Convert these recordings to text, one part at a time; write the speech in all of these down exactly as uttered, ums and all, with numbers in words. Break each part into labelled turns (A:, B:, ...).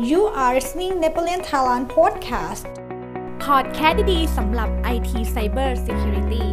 A: You are listening Napoleon Thailand Podcast
B: พอดแคสต์ดีๆสำหรับ ไอ ที Cyber Security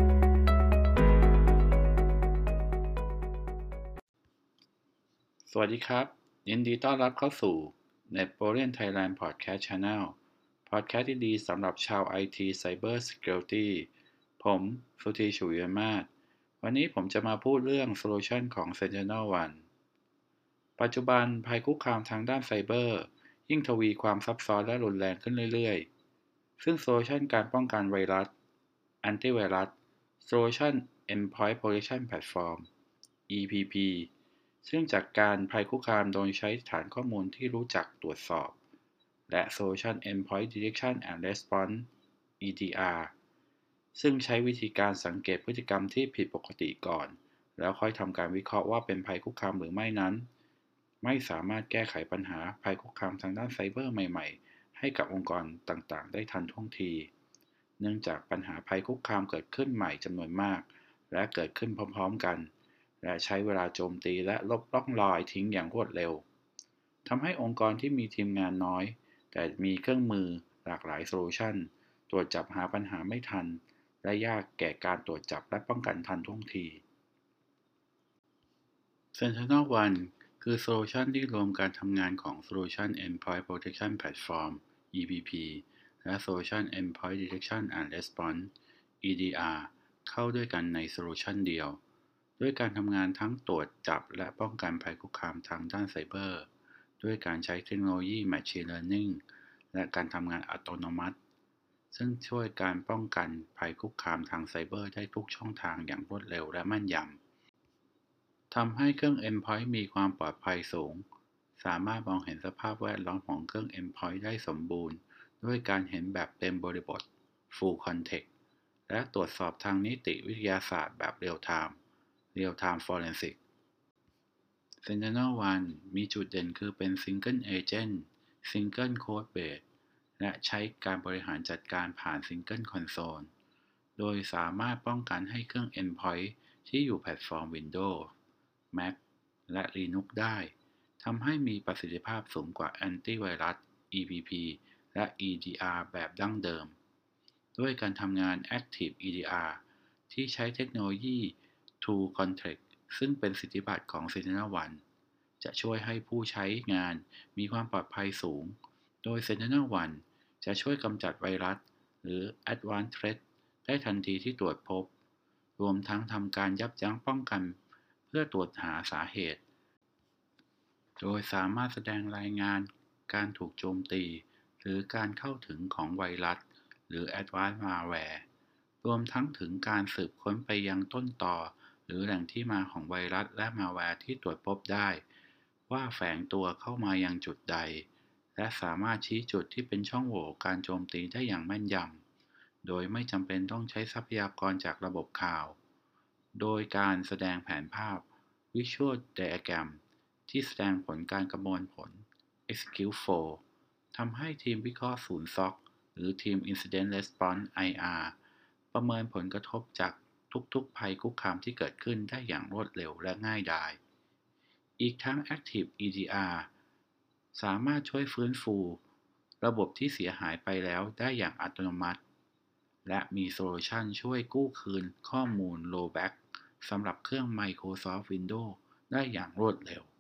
C: สวัสดีครับยินดีต้อนรับเข้าสู่ Napoleon Thailand Podcast Channel พอดแคสต์ดีๆสำหรับชาว ไอ ที Cyber Security ผมสุธี ฉุยมาศวันนี้ผมจะมาพูดเรื่องโซลูชันของ SentinelOne ปัจจุบันภัยคุกคามทางด้านไซเบอร์ยิ่งทวีความซับซ้อนและรุนแรงขึ้นเรื่อยๆซึ่งโซลูชันการป้องกันไวรัส Antivirus Solution Endpoint Protection Platform อี พี พี ซึ่งจัดการภัยคุกคามโดยใช้ฐานข้อมูลที่รู้จักตรวจสอบและ Solution Endpoint Detection and Response อี ดี อาร์ ซึ่งใช้วิธีการสังเกตพฤติกรรมที่ผิดปกติก่อนแล้วค่อยทำการวิเคราะห์ว่าเป็นภัยคุกคามหรือไม่นั้นไม่สามารถแก้ไขปัญหาภัยคุกคามทางด้านไซเบอร์ใหม่ๆให้กับองค์กรต่างๆได้ทันท่วงทีเนื่องจากปัญหาภัยคุกคามเกิดขึ้นใหม่จำนวนมากและเกิดขึ้นพร้อมๆกันและใช้เวลาโจมตีและลบร่องรอยทิ้งอย่างรวดเร็วทำให้องค์กรที่มีทีมงานน้อยแต่มีเครื่องมือหลากหลายโซลูชันตรวจจับหาปัญหาไม่ทันและยากแก่การตรวจจับและป้องกันทันท่วงที SentinelOne คือโซลูชันที่รวมการทำงานของ Solution Endpoint Protection Platform อี พี พี และ Solution Endpoint Detection and Response อี ดี อาร์ เข้าด้วยกันในโซลูชันเดียวด้วยการทำงานทั้งตรวจจับและป้องกันภัยคุกคามทางด้านไซเบอร์ด้วยการใช้เทคโนโลยี Machine Learning และการทำงานอัตโนมัติซึ่งช่วยการป้องกันภัยคุกคามทางไซเบอร์ได้ทุกช่องทางอย่างรวดเร็วและแม่นยำทำให้เครื่อง Endpoint มีความปลอดภัยสูงสามารถมองเห็นสภาพแวดล้อมของเครื่อง Endpoint ได้สมบูรณ์ด้วยการเห็นแบบเต็มบริบท Full Context และตรวจสอบทางนิติวิทยาศาสตร์แบบ Real Time Real Time Forensic SentinelOne มีจุดเด่นคือเป็น Single Agent Single Code Base และใช้การบริหารจัดการผ่าน Single Console โดยสามารถป้องกันให้เครื่อง Endpoint ที่อยู่แพลตฟอร์ม Windows Mac และ Linux ได้ทำให้มีประสิทธิภาพสูงกว่า Antivirus อี พี พี และ อี ดี อาร์ แบบดั้งเดิมด้วยการทำงาน Active อี ดี อาร์ ที่ใช้เทคโนโลยี True Context ซึ่งเป็นสิทธิบัตรของ SentinelOne จะช่วยให้ผู้ใช้งานมีความปลอดภัยสูงโดย SentinelOne จะช่วยกำจัดไวรัสหรือ Advanced Threat ได้ทันทีที่ตรวจพบรวมทั้งทำการยับยั้งป้องกันเพื่อตรวจหาสาเหตุโดยสามารถแสดงรายงานการถูกโจมตีหรือการเข้าถึงของไวรัสหรือ Advanced Malware รวมทั้งถึงการสืบค้นไปยังต้นตอหรือแหล่งที่มาของไวรัสและมาแวร์ที่ตรวจพบได้ว่าแฝงตัวเข้ามายังจุดใดและสามารถชี้จุดที่เป็นช่องโหว่การโจมตีได้อย่างแม่นยำโดยไม่จำเป็นต้องใช้ทรัพยากรจากระบบข่าวโดยการแสดงแผนภาพ Visual Diagram ที่แสดงผลการประมวลผล Execute Flow ทำให้ทีมวิเคราะห์ศูนย์ ซี โอ ซี หรือทีม Incident Response ไอ อาร์ ประเมินผลกระทบจากทุกๆภัยคุกคามที่เกิดขึ้นได้อย่างรวดเร็วและง่ายดายอีกทั้ง Active อี ดี อาร์ สามารถช่วยฟื้นฟูระบบที่เสียหายไปแล้วได้อย่างอัตโนมัติและมีโซลูชันช่วยกู้คืนข้อมูล Rollback สำหรับเครื่อง Microsoft Windows ได้อย่างรวดเร็ว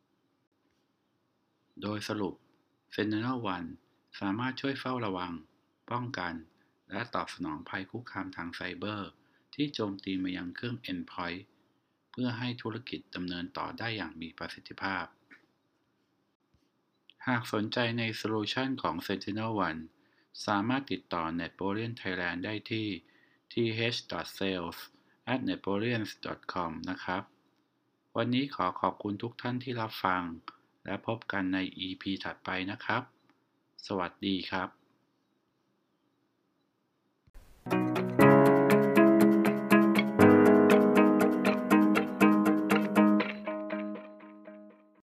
C: โดยสรุป SentinelOne สามารถช่วยเฝ้าระวังป้องกันและตอบสนองภัยคุกคามทางไซเบอร์ที่โจมตีมายังเครื่อง Endpoint เพื่อให้ธุรกิจดำเนินต่อได้อย่างมีประสิทธิภาพหากสนใจในโซลูชันของ SentinelOne สามารถติดต่อ Napoleon Thailand ได้ที่ ที เอช ดอท เซลส์ แอท เนโปเลียน ดอท คอม นะครับวันนี้ขอขอบคุณทุกท่านที่รับฟังและพบกันใน อี พี ถัดไปนะครับสวัสดีครับ